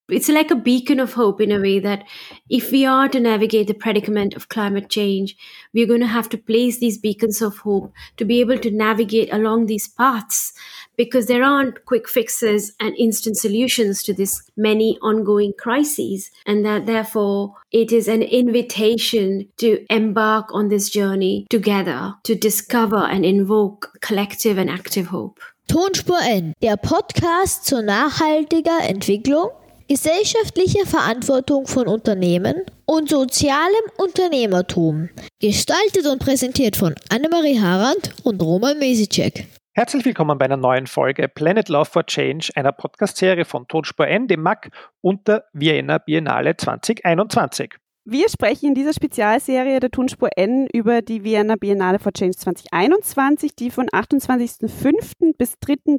it's like a beacon of hope in a way that if we are to navigate the predicament of climate change, we're going to have to place these beacons of hope to be able to navigate along these paths, because there aren't quick fixes and instant solutions to this many ongoing crises. And that therefore it is an invitation to embark on this journey together to discover and invoke collective and active hope. Tonspur N, der Podcast zur nachhaltiger Entwicklung, gesellschaftlicher Verantwortung von Unternehmen und sozialem Unternehmertum. Gestaltet und präsentiert von Annemarie Harand und Roman Mesicek. Herzlich willkommen bei einer neuen Folge Planet Love for Change, einer Podcast-Serie von Tonspur N, dem MAC und der Vienna Biennale 2021. Wir sprechen in dieser Spezialserie der Tonspur N über die Vienna Biennale for Change 2021, die von 28.05. bis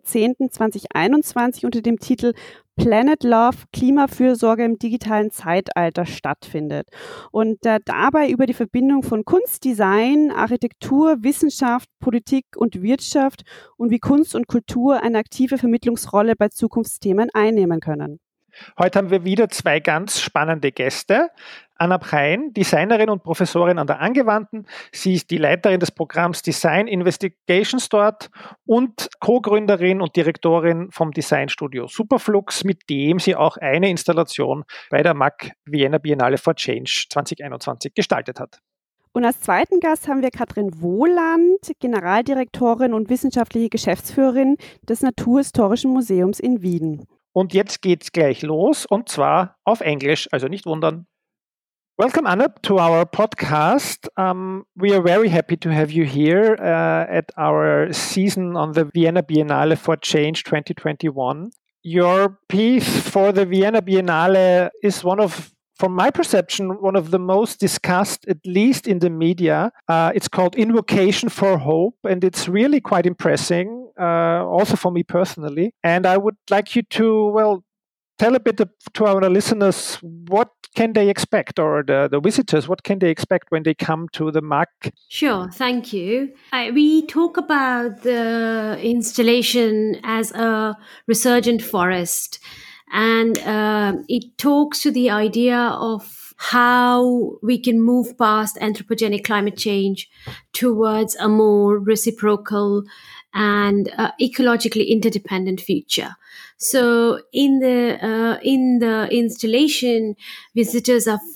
3.10.2021 unter dem Titel Planet Love, Klimafürsorge im digitalen Zeitalter stattfindet. Und dabei über die Verbindung von Kunst, Design, Architektur, Wissenschaft, Politik und Wirtschaft und wie Kunst und Kultur eine aktive Vermittlungsrolle bei Zukunftsthemen einnehmen können. Heute haben wir wieder zwei ganz spannende Gäste. Anna Brein, Designerin und Professorin an der Angewandten. Sie ist die Leiterin des Programms Design Investigations dort und Co-Gründerin und Direktorin vom Designstudio Superflux, mit dem sie auch eine Installation bei der MAC Vienna Biennale for Change 2021 gestaltet hat. Und als zweiten Gast haben wir Katrin Wohland, Generaldirektorin und wissenschaftliche Geschäftsführerin des Naturhistorischen Museums in Wien. Und jetzt geht's gleich los, und zwar auf Englisch, also nicht wundern. Welcome, Anna, to our podcast. We are very happy to have you here at our season on the Vienna Biennale for Change 2021. Your piece for the Vienna Biennale is from my perception, one of the most discussed, at least in the media. It's called Invocation for Hope, and it's really quite impressive, also for me personally. And I would like you to, tell a bit to our listeners, what can they expect, or the visitors, what can they expect when they come to the MAC? Sure, thank you. We talk about the installation as a resurgent forest, and it talks to the idea of how we can move past anthropogenic climate change towards a more reciprocal and ecologically interdependent future. So in the installation, visitors will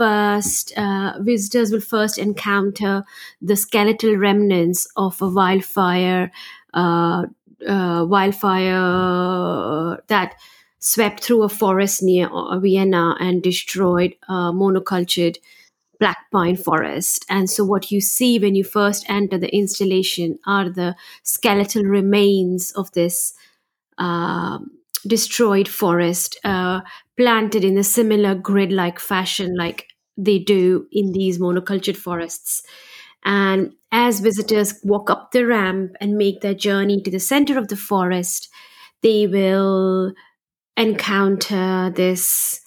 first encounter the skeletal remnants of a wildfire that swept through a forest near Vienna and destroyed a monocultured black pine forest. And so what you see when you first enter the installation are the skeletal remains of this destroyed forest, planted in a similar grid-like fashion like they do in these monocultured forests. And as visitors walk up the ramp and make their journey to the center of the forest, they will encounter this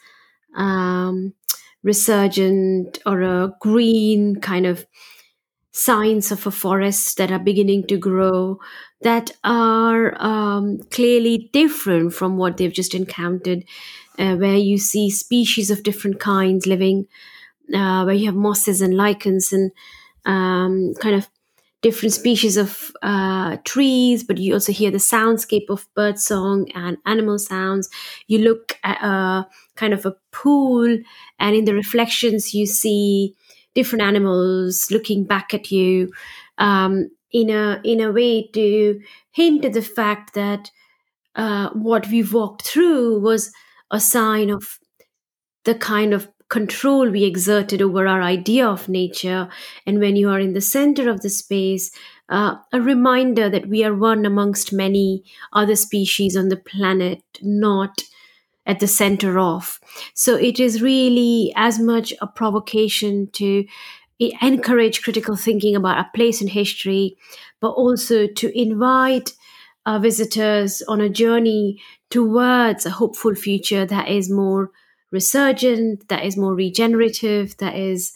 resurgent or a green kind of signs of a forest that are beginning to grow that are clearly different from what they've just encountered, where you see species of different kinds living, where you have mosses and lichens and kind of different species of trees, but you also hear the soundscape of birdsong and animal sounds. You look at a kind of a pool, and in the reflections you see different animals looking back at you in a way to hint at the fact that what we've walked through was a sign of the kind of control we exerted over our idea of nature. And when you are in the center of the space, a reminder that we are one amongst many other species on the planet, not at the center of. So it is really as much a provocation to encourage critical thinking about our place in history, but also to invite our visitors on a journey towards a hopeful future that is more resurgent, that is more regenerative, that is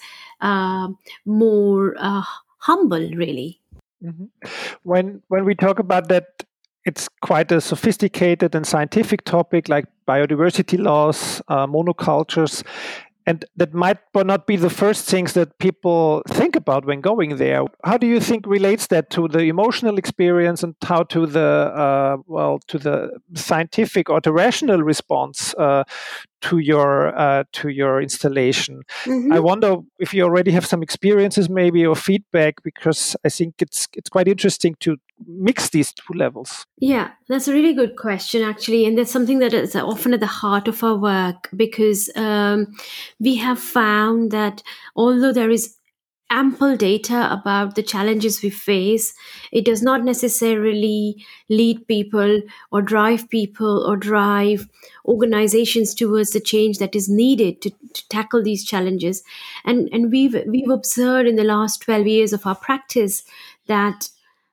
more humble, really. Mm-hmm. When we talk about that it's quite a sophisticated and scientific topic like biodiversity loss, monocultures. And that might not be the first things that people think about when going there. How do you think relates that to the emotional experience and how to the to the scientific or the rational response to your installation? Mhm. I wonder if you already have some experiences, maybe, or feedback, because I think it's quite interesting to mix these two levels. Yeah, that's a really good question, actually. And that's something that is often at the heart of our work, because we have found that although there is ample data about the challenges we face, it does not necessarily lead people or drive organizations towards the change that is needed to tackle these challenges. And we've observed in the last 12 years of our practice that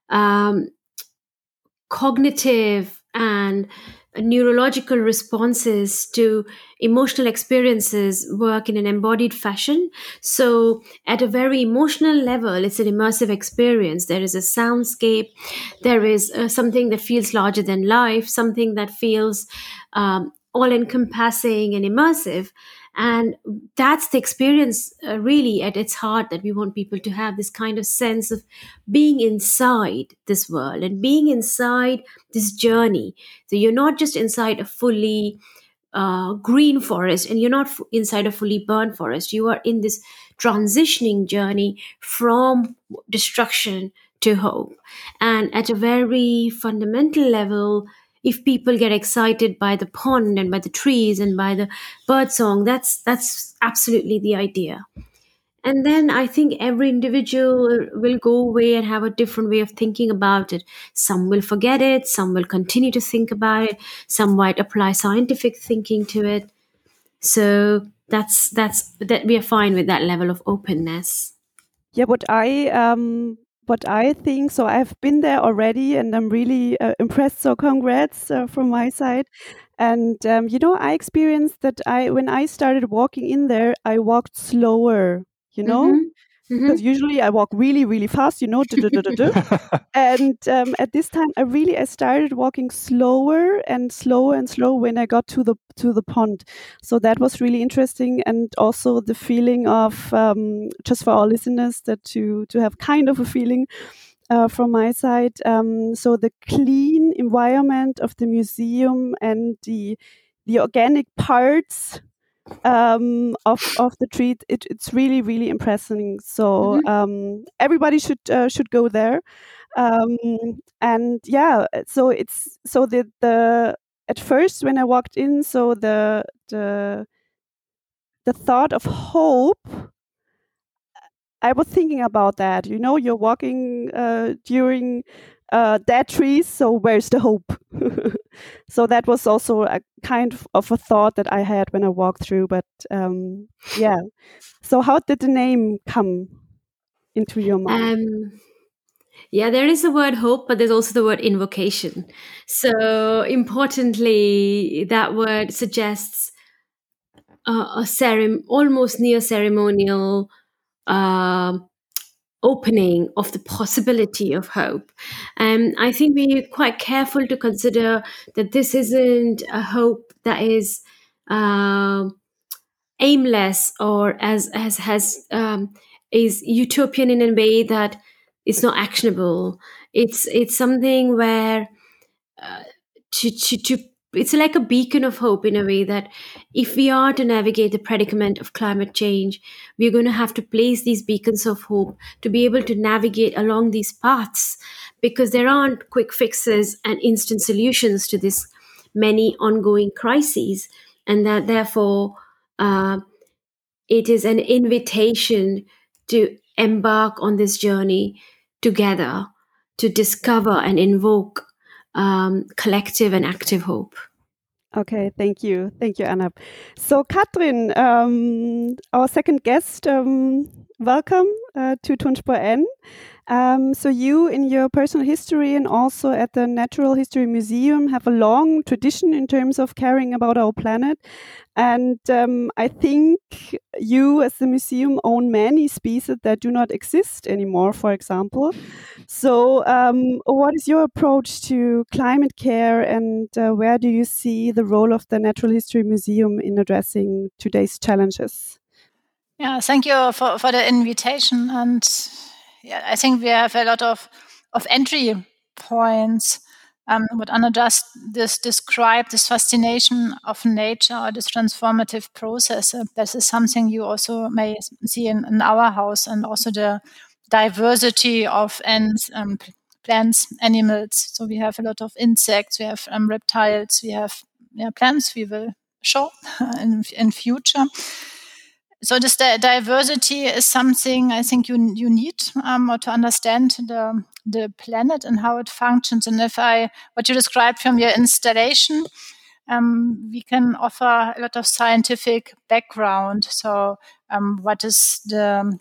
cognitive and neurological responses to emotional experiences work in an embodied fashion. So at a very emotional level, it's an immersive experience. There is a soundscape, there is something that feels larger than life, something that feels all encompassing and immersive. And that's the experience really at its heart that we want people to have, this kind of sense of being inside this world and being inside this journey. So you're not just inside a fully green forest, and you're not inside a fully burned forest. You are in this transitioning journey from destruction to hope. And at a very fundamental level, if people get excited by the pond and by the trees and by the bird song, that's absolutely the idea. And then I think every individual will go away and have a different way of thinking about it. Some will forget it, some will continue to think about it, some might apply scientific thinking to it. So that's that we are fine with that level of openness. Yeah, what I think, so I've been there already and I'm really impressed. So congrats from my side. And I experienced that when I started walking in there, I walked slower, because usually I walk really, really fast, And at this time, I started walking slower and slower and slower when I got to the pond. So that was really interesting, and also the feeling of just for our listeners that to have kind of a feeling from my side. So the clean environment of the museum and the organic parts of the treat, it's really, really impressive. So everybody should go there. And yeah, so it's so the at first when I walked in, so the thought of hope, I was thinking about that. You're walking during dead trees, so where's the hope? So that was also a kind of a thought that I had when I walked through. But yeah, so how did the name come into your mind? Yeah, there is the word hope, but there's also the word invocation. So importantly, that word suggests almost near ceremonial opening of the possibility of hope. I think we're quite careful to consider that this isn't a hope that is aimless or is utopian in a way that it's not actionable. It's something where to it's like a beacon of hope in a way that if we are to navigate the predicament of climate change, we're going to have to place these beacons of hope to be able to navigate along these paths, because there aren't quick fixes and instant solutions to this many ongoing crises, and that therefore it is an invitation to embark on this journey together to discover and invoke collective and active hope. Okay, thank you, Anna. So, Katrin, our second guest, welcome to Tonspur N. So you, in your personal history and also at the Natural History Museum, have a long tradition in terms of caring about our planet. And I think you, as the museum, own many species that do not exist anymore, for example. So what is your approach to climate care, and where do you see the role of the Natural History Museum in addressing today's challenges? Yeah, thank you for the invitation. And yeah, I think we have a lot of entry points. What Anna just described, this fascination of nature or this transformative process. This is something you also may see in our house, and also the diversity of plants, animals. So we have a lot of insects, we have reptiles, we have plants we will show in future. So this diversity is something I think you need or to understand the planet and how it functions. And what you described from your installation, we can offer a lot of scientific background. So what is the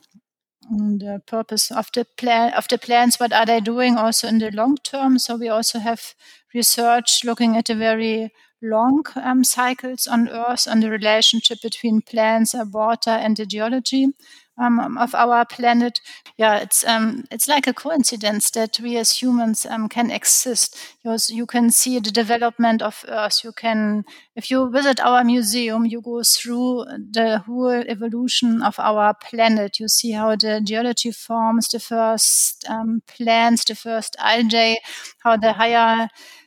purpose of the plants? What are they doing also in the long term? So we also have research looking at a very long cycles on Earth and the relationship between plants, water, and the geology of our planet. Yeah, it's like a coincidence that we as humans can exist. You can see the development of Earth. If you visit our museum, you go through the whole evolution of our planet. You see how the geology forms, the first plants, the first algae, how the higher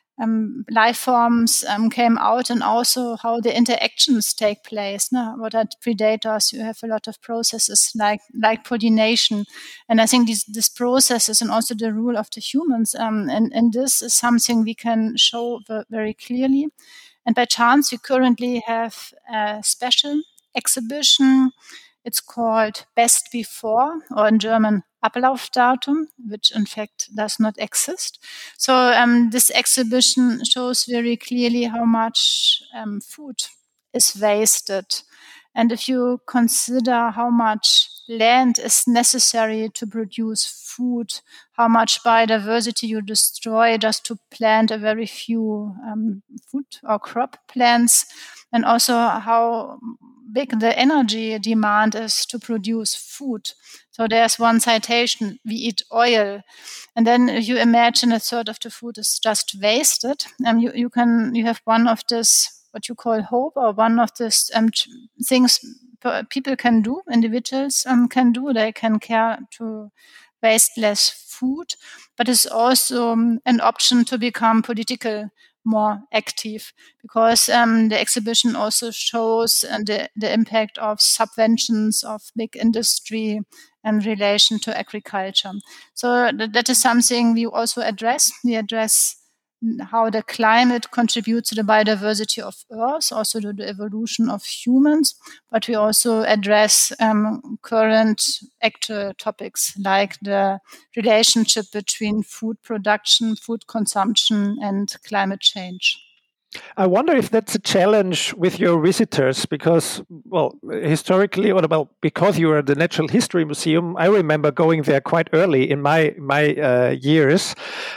life forms came out, and also how the interactions take place. What are predators? You have a lot of processes like pollination, and I think these processes and also the role of the humans, and this is something we can show very clearly. And by chance, we currently have a special exhibition. It's called Best Before, or in German Ablaufdatum, which in fact does not exist. So this exhibition shows very clearly how much food is wasted. And if you consider how much land is necessary to produce food, how much biodiversity you destroy just to plant a very few food or crop plants, and also how big the energy demand is to produce food. So there's one citation: we eat oil. And then if you imagine a third of the food is just wasted, you have one of this, what you call hope, or one of these things people can do, individuals can do. They can care to waste less food, but it's also an option to become political more active, because the exhibition also shows the impact of subventions of big industry in relation to agriculture. So that is something we also address. We address how the climate contributes to the biodiversity of Earth, also to the evolution of humans, but we also address current actual topics like the relationship between food production, food consumption, and climate change. I wonder if that's a challenge with your visitors, because, well, historically, because you are the Natural History Museum, I remember going there quite early in my years,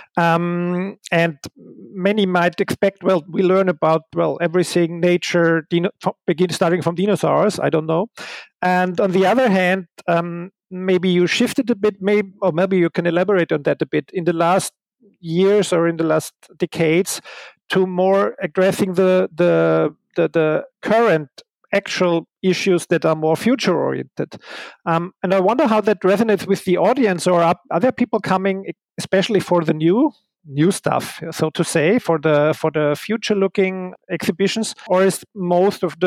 and many might expect, well, we learn about everything, nature, starting from dinosaurs. I don't know, and on the other hand, maybe you shifted a bit, or maybe you can elaborate on that a bit in the last years or in the last decades, to more addressing the current actual issues that are more future oriented. And I wonder how that resonates with the audience, or are there people coming especially for the new stuff, so to say, for the future looking exhibitions, or is most of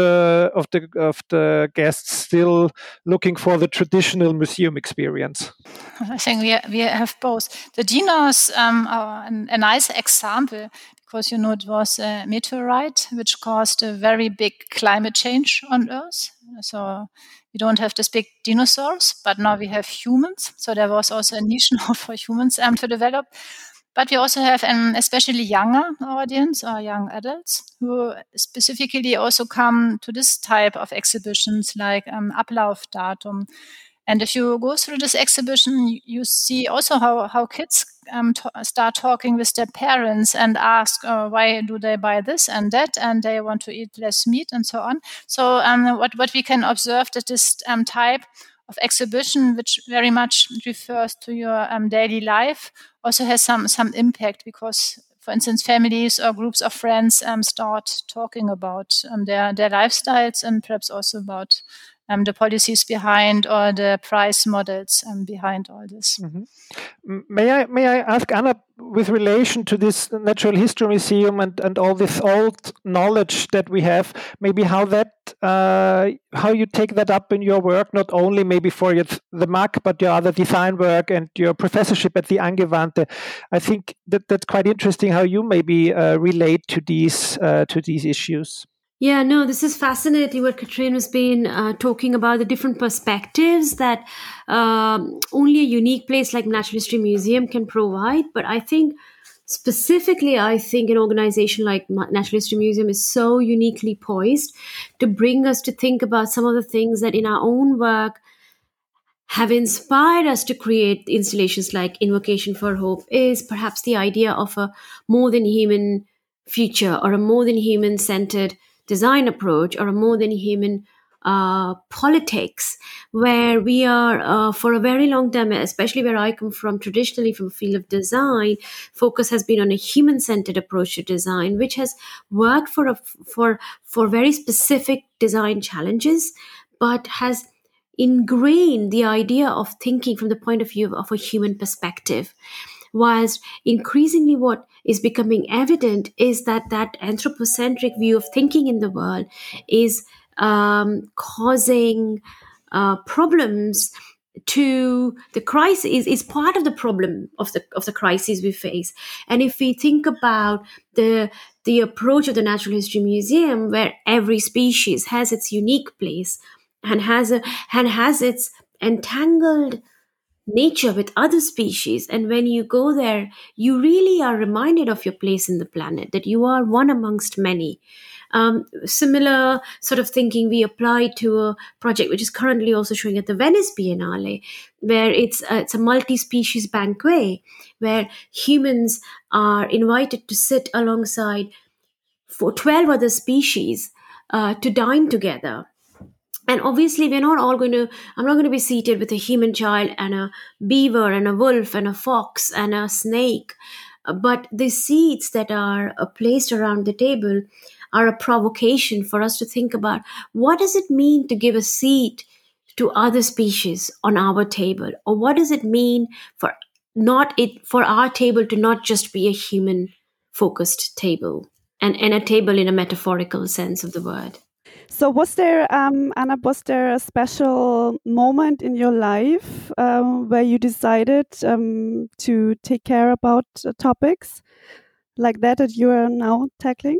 the guests still looking for the traditional museum experience? I think we have both. The dinos are a nice example, because it was a meteorite which caused a very big climate change on Earth. So we don't have these big dinosaurs, but now we have humans. So there was also a niche now for humans to develop. But we also have an especially younger audience, or young adults, who specifically also come to this type of exhibitions like Ablaufdatum. And if you go through this exhibition, you see also how kids start talking with their parents and ask why do they buy this and that, and they want to eat less meat and so on. So what we can observe that this type of exhibition, which very much refers to your daily life, also has some impact because, for instance, families or groups of friends start talking about their lifestyles and perhaps also about the policies behind or the price models behind all this. Mm-hmm. May I ask Anna, with relation to this Natural History Museum and all this old knowledge that we have, maybe how you take that up in your work, not only maybe for the MAC, but your other design work and your professorship at the Angewandte. I think that's quite interesting how you maybe relate to these issues. Yeah, no, this is fascinating what Katrin has been talking about, the different perspectives that only a unique place like Natural History Museum can provide. But I think specifically, an organization like Natural History Museum is so uniquely poised to bring us to think about some of the things that in our own work have inspired us to create installations like Invocation for Hope, is perhaps the idea of a more than human future or a more than human centered design approach or a more than human politics, where we are for a very long time, especially where I come from, traditionally from the field of design, focus has been on a human-centered approach to design, which has worked for very specific design challenges, but has ingrained the idea of thinking from the point of view of a human perspective. Whilst increasingly what is becoming evident is that anthropocentric view of thinking in the world is causing problems to the crisis, is part of the problem of the crises we face. And if we think about the approach of the Natural History Museum, where every species has its unique place and has its entangled nature with other species, and when you go there, you really are reminded of your place in the planet, that you are one amongst many. Similar sort of thinking we apply to a project which is currently also showing at the Venice Biennale, where it's a multi-species banquet, where humans are invited to sit alongside for 12 other species to dine together. And obviously, I'm not going to be seated with a human child and a beaver and a wolf and a fox and a snake. But the seats that are placed around the table are a provocation for us to think about, what does it mean to give a seat to other species on our table? Or what does it mean for our table to not just be a human-focused table, and a table in a metaphorical sense of the word? So was there, Anna, a special moment in your life where you decided to take care about topics like that you are now tackling?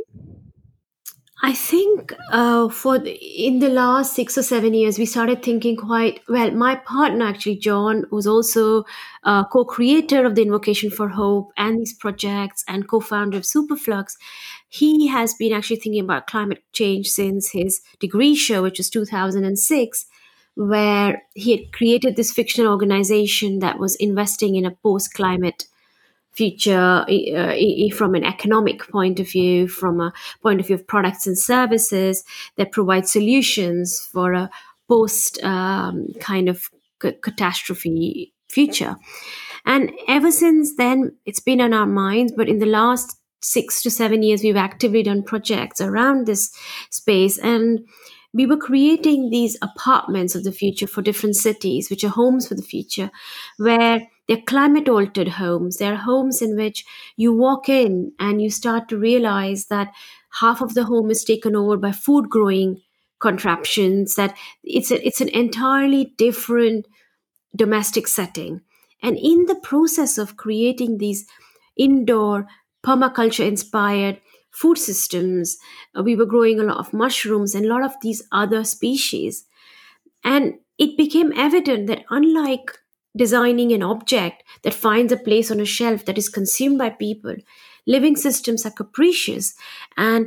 I think in the last 6 or 7 years, we started thinking quite well. My partner, actually, John, who's also co-creator of the Invocation for Hope and these projects and co-founder of Superflux, he has been actually thinking about climate change since his degree show, which was 2006, where he had created this fictional organization that was investing in a post-climate future from an economic point of view, from a point of view of products and services that provide solutions for a post kind of catastrophe future. And ever since then, it's been on our minds. But in the last 6 to 7 years, we've actively done projects around this space. And we were creating these apartments of the future for different cities, which are homes for the future, where they're climate-altered homes. They're homes in which you walk in and you start to realize that half of the home is taken over by food-growing contraptions, that it's an entirely different domestic setting. And in the process of creating these indoor permaculture-inspired food systems, we were growing a lot of mushrooms and a lot of these other species. And it became evident that unlike designing an object that finds a place on a shelf that is consumed by people, living systems are capricious. And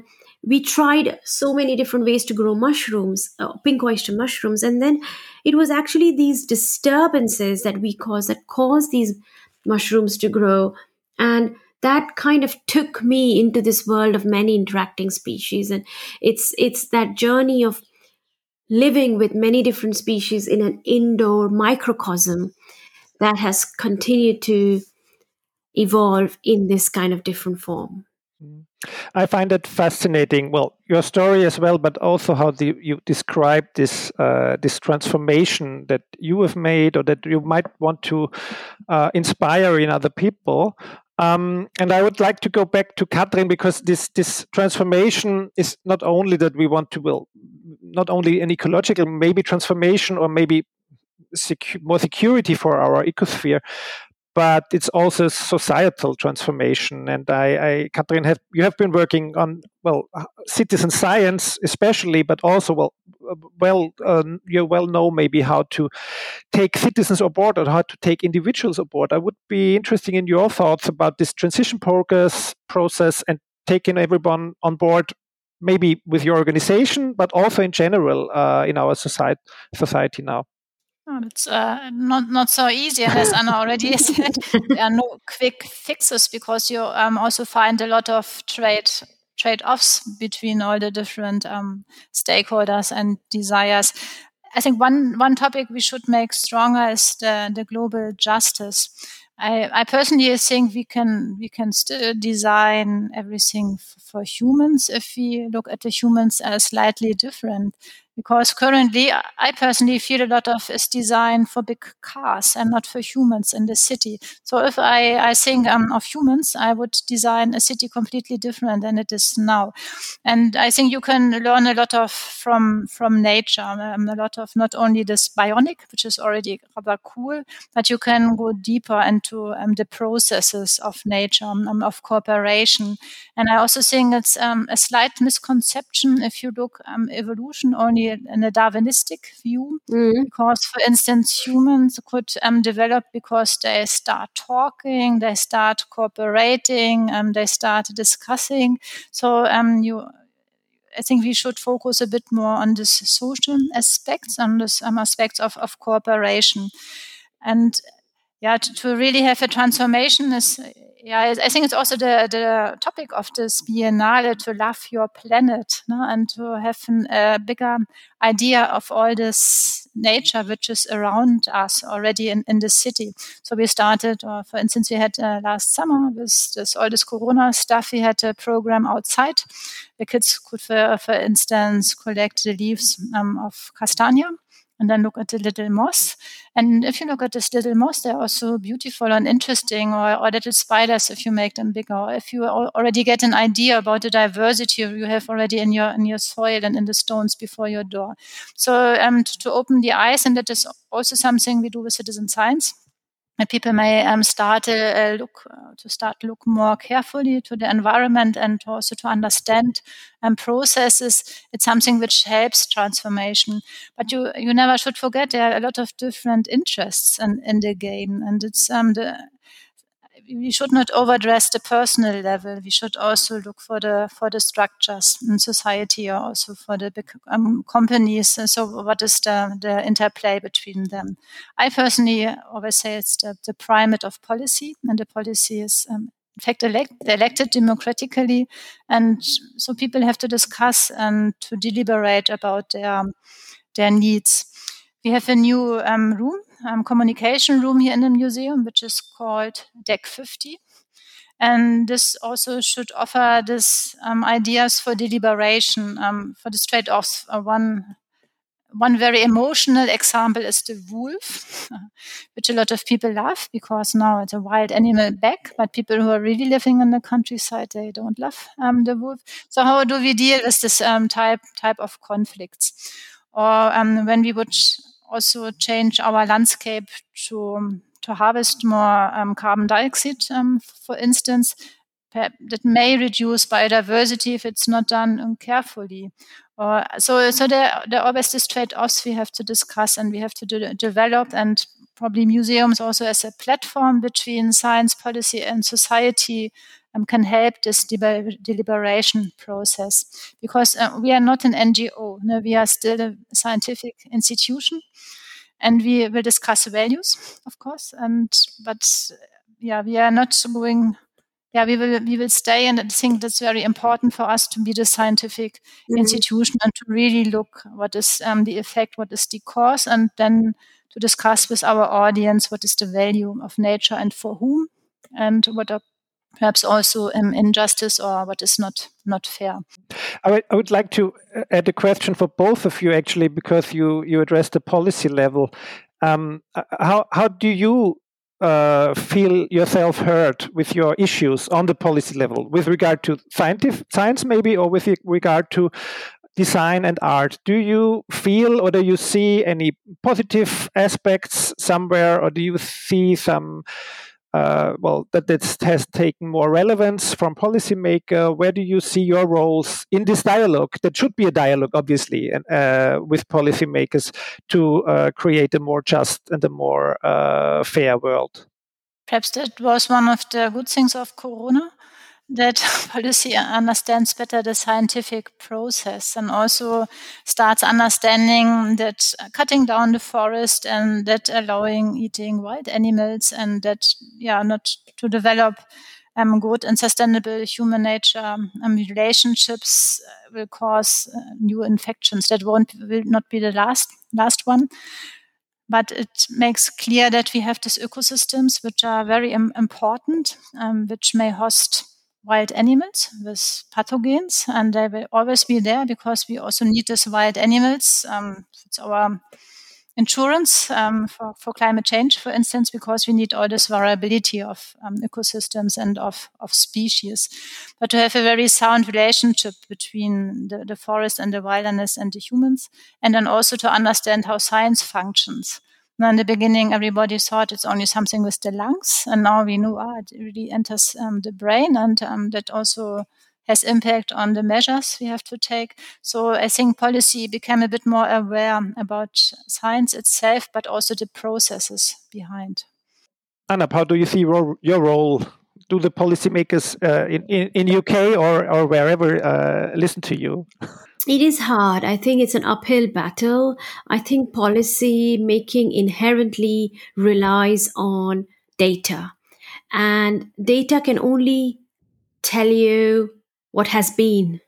we tried so many different ways to grow mushrooms, pink oyster mushrooms, and then it was actually these disturbances that we caused that caused these mushrooms to grow, and that kind of took me into this world of many interacting species. And it's that journey of living with many different species in an indoor microcosm that has continued to evolve in this kind of different form. I find it fascinating. Well, your story as well, but also how you describe this this transformation that you have made, or that you might want to inspire in other people. And I would like to go back to Katrin, because this transformation is not only that we want to, well, not only an ecological maybe transformation, or maybe more security for our ecosphere, but it's also societal transformation. And Katrin, you have been working on, well, citizen science especially, but also, you well know maybe how to take citizens on board, or how to take individuals on board. I would be interested in your thoughts about this transition process and taking everyone on board, maybe with your organization, but also in general in our society now. Oh, it's not so easy, and as Anna already said, there are no quick fixes, because you also find a lot of trade-offs between all the different stakeholders and desires. I think one topic we should make stronger is the global justice. I personally think we can still design everything for humans if we look at the humans as slightly different. Because currently, I personally feel a lot of is designed for big cars and not for humans in the city. So if I think of humans, I would design a city completely different than it is now. And I think you can learn a lot from nature, a lot of not only this bionic, which is already rather cool, but you can go deeper into the processes of nature, of cooperation. And I also think it's a slight misconception if you look evolution only in a Darwinistic view, because, for instance, humans could develop because they start talking, they start cooperating, they start discussing. So I think we should focus a bit more on this social aspects, on this aspects of cooperation. And to really have a transformation is, I think it's also the topic of this Biennale, to love your planet, and to have a bigger idea of all this nature which is around us already in the city. So we started, for instance, we had last summer with all this Corona stuff, we had a program outside. The kids could, for instance, collect the leaves of castagna, and then look at the little moss. And if you look at this little moss, they're also beautiful and interesting, or little spiders if you make them bigger, or if you already get an idea about the diversity you have already in your soil and in the stones before your door. So to open the eyes, and that is also something we do with citizen science. And people may start to look more carefully to the environment, and also to understand processes. It's something which helps transformation. But you never should forget there are a lot of different interests in the game, and it's we should not overdress the personal level. We should also look for the structures in society, or also for the big companies. So what is the interplay between them? I personally always say it's the primate of policy, and the policy is in fact elected democratically, and so people have to discuss and to deliberate about their needs. We have a new communication room here in the museum, which is called Deck 50. And this also should offer this ideas for deliberation, for the trade-offs. One very emotional example is the wolf, which a lot of people love, because now it's a wild animal back, but people who are really living in the countryside, they don't love the wolf. So how do we deal with this type of conflicts? Or when we would also change our landscape to harvest more carbon dioxide, for instance, that may reduce biodiversity if it's not done carefully. So there are always these trade-offs we have to discuss, and we have to develop, and probably museums also as a platform between science, policy, and society can help this deliberation process, because we are not an NGO. No, we are still a scientific institution, and we will discuss values, of course. But we are not going. Yeah, we will stay, and I think that's very important for us to be the scientific institution and to really look what is the effect, what is the cause, and then to discuss with our audience what is the value of nature and for whom, and what are perhaps also injustice or what is not fair. I would like to add a question for both of you, actually, because you addressed the policy level. How do you feel yourself heard with your issues on the policy level with regard to science maybe, or with regard to design and art? Do you feel or do you see any positive aspects somewhere, or do you see some that has taken more relevance from policymaker? Where do you see your roles in this dialogue? That should be a dialogue, obviously, with policymakers to create a more just and a more fair world. Perhaps that was one of the good things of Corona, that policy understands better the scientific process and also starts understanding that cutting down the forest and that allowing eating wild animals and that not to develop good and sustainable human nature relationships will cause new infections. That will not be the last one. But it makes clear that we have these ecosystems which are very important, which may host wild animals with pathogens, and they will always be there because we also need these wild animals. It's our insurance for climate change, for instance, because we need all this variability of ecosystems and of species. But to have a very sound relationship between the forest and the wilderness and the humans, and then also to understand how science functions. Now, in the beginning, everybody thought it's only something with the lungs, and now we know it really enters the brain, and that also has impact on the measures we have to take. So I think policy became a bit more aware about science itself, but also the processes behind. Anna, how do you see your role? Do the policymakers in UK or wherever listen to you? It is hard. I think it's an uphill battle. I think policy making inherently relies on data, and data can only tell you what has been.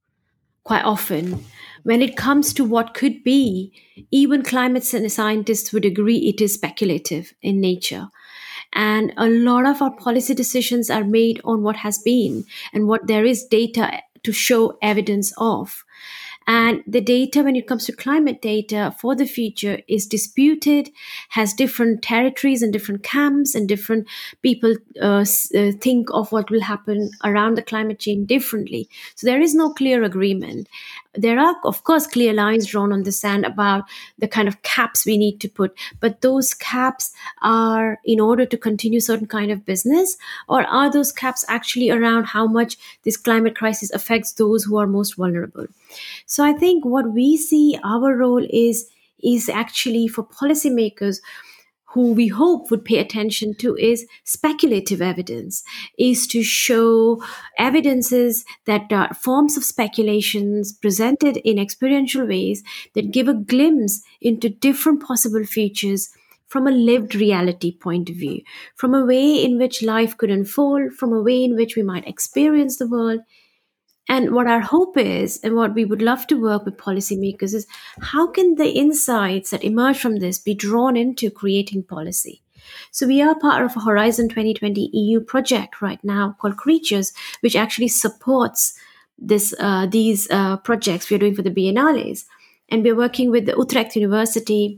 Quite often, when it comes to what could be, even climate scientists would agree it is speculative in nature. And a lot of our policy decisions are made on what has been and what there is data to show evidence of. And the data, when it comes to climate data for the future, is disputed, has different territories and different camps, and different people think of what will happen around the climate change differently. So there is no clear agreement. There are, of course, clear lines drawn on the sand about the kind of caps we need to put, but those caps are in order to continue certain kind of business, or are those caps actually around how much this climate crisis affects those who are most vulnerable? So I think what we see our role is actually for policymakers who we hope would pay attention to is speculative evidence, is to show evidences that are forms of speculations presented in experiential ways that give a glimpse into different possible futures from a lived reality point of view, from a way in which life could unfold, from a way in which we might experience the world. And what our hope is, and what we would love to work with policymakers is, how can the insights that emerge from this be drawn into creating policy? So we are part of a Horizon 2020 EU project right now called Creatures, which actually supports these projects we are doing for the Biennales. And we're working with the Utrecht University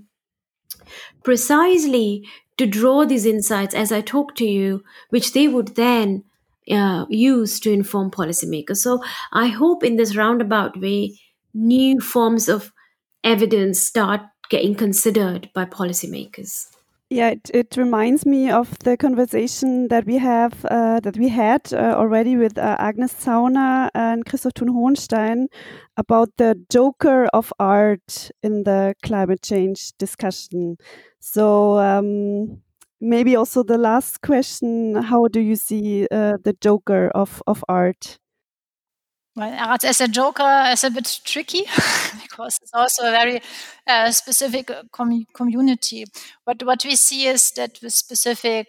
precisely to draw these insights as I talk to you, which they would then use to inform policymakers. So I hope in this roundabout way, new forms of evidence start getting considered by policymakers. Yeah, it reminds me of the conversation that we had already with Agnes Zauner and Christoph Thun-Hohenstein about the joker of art in the climate change discussion. So Maybe also the last question, how do you see the Joker of art? Well, art as a Joker is a bit tricky because it's also a very specific community. What we see is that with specific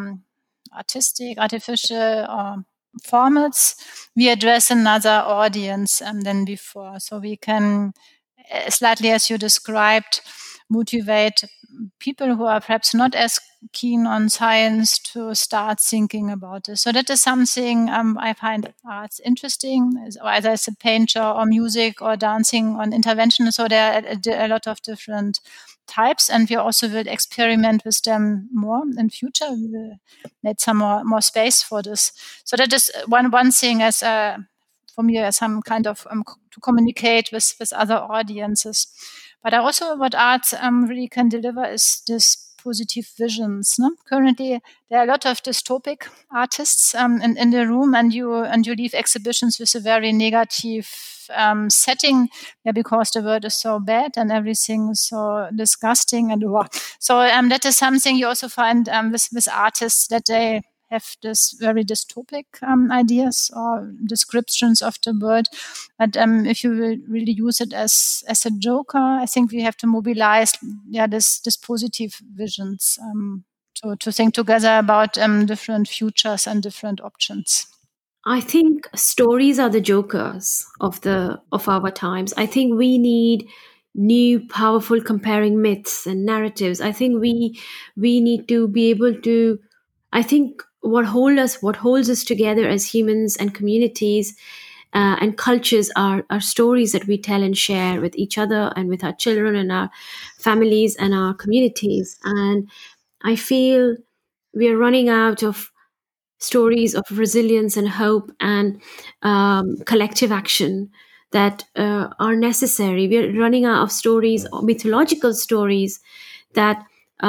artistic, artificial formats, we address another audience than before. So we can, slightly as you described, motivate people who are perhaps not as keen on science to start thinking about this. So that is something I find arts interesting, either as a painter or music or dancing on intervention. So there are a lot of different types, and we also will experiment with them more in future. We will make some more space for this. So that is one thing as for me as some kind of to communicate with other audiences. But also what art really can deliver is this positive visions. No? Currently, there are a lot of dystopic artists in the room, and you leave exhibitions with a very negative setting, because the world is so bad and everything is so disgusting and so that is something you also find with artists, that they have this very dystopic ideas or descriptions of the world. But if you will really use it as a joker, I think we have to mobilize this positive visions to think together about different futures and different options. I think stories are the jokers of our times. I think we need new, powerful, comparing myths and narratives. I think we need to be able to. I think what holds us together as humans and communities and cultures are stories that we tell and share with each other and with our children and our families and our communities. And I feel we are running out of stories of resilience and hope and collective action that are necessary. We are running out of stories, mythological stories that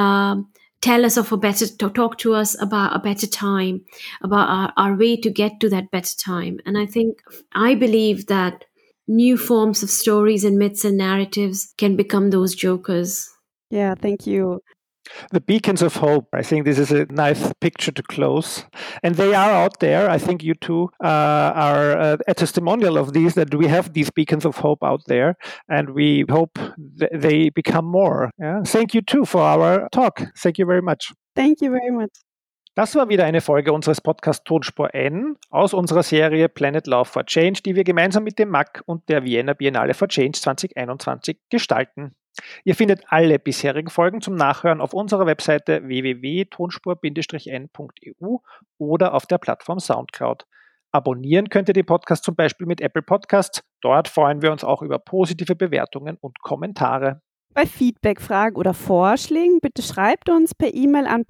tell us of talk to us about a better time, about our way to get to that better time. And I believe that new forms of stories and myths and narratives can become those jokers. Yeah, thank you. The beacons of hope. I think this is a nice picture to close. And they are out there. I think you two are a testimonial of these, that we have these beacons of hope out there. And we hope they become more. Yeah? Thank you too for our talk. Thank you very much. Thank you very much. Das war wieder eine Folge unseres Podcasts Tonspur N aus unserer Serie Planet Love for Change, die wir gemeinsam mit dem MAC und der Vienna Biennale for Change 2021 gestalten. Ihr findet alle bisherigen Folgen zum Nachhören auf unserer Webseite www.tonspur-n.eu oder auf der Plattform Soundcloud. Abonnieren könnt ihr den Podcast zum Beispiel mit Apple Podcasts. Dort freuen wir uns auch über positive Bewertungen und Kommentare. Bei Feedback, Fragen oder Vorschlägen bitte schreibt uns per E-Mail an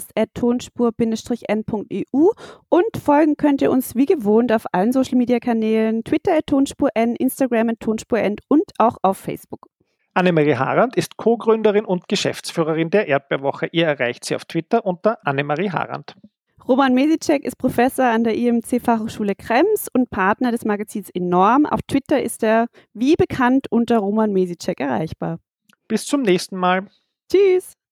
podcast@tonspur-n.eu und folgen könnt ihr uns wie gewohnt auf allen Social-Media-Kanälen, Twitter @tonspur-n, Instagram @tonspur-n und auch auf Facebook. Annemarie Harand ist Co-Gründerin und Geschäftsführerin der Erdbeerwoche. Ihr erreicht sie auf Twitter unter Annemarie Harand. Roman Mesicek ist Professor an der IMC Fachhochschule Krems und Partner des Magazins Enorm. Auf Twitter ist er wie bekannt unter Roman Mesicek erreichbar. Bis zum nächsten Mal. Tschüss.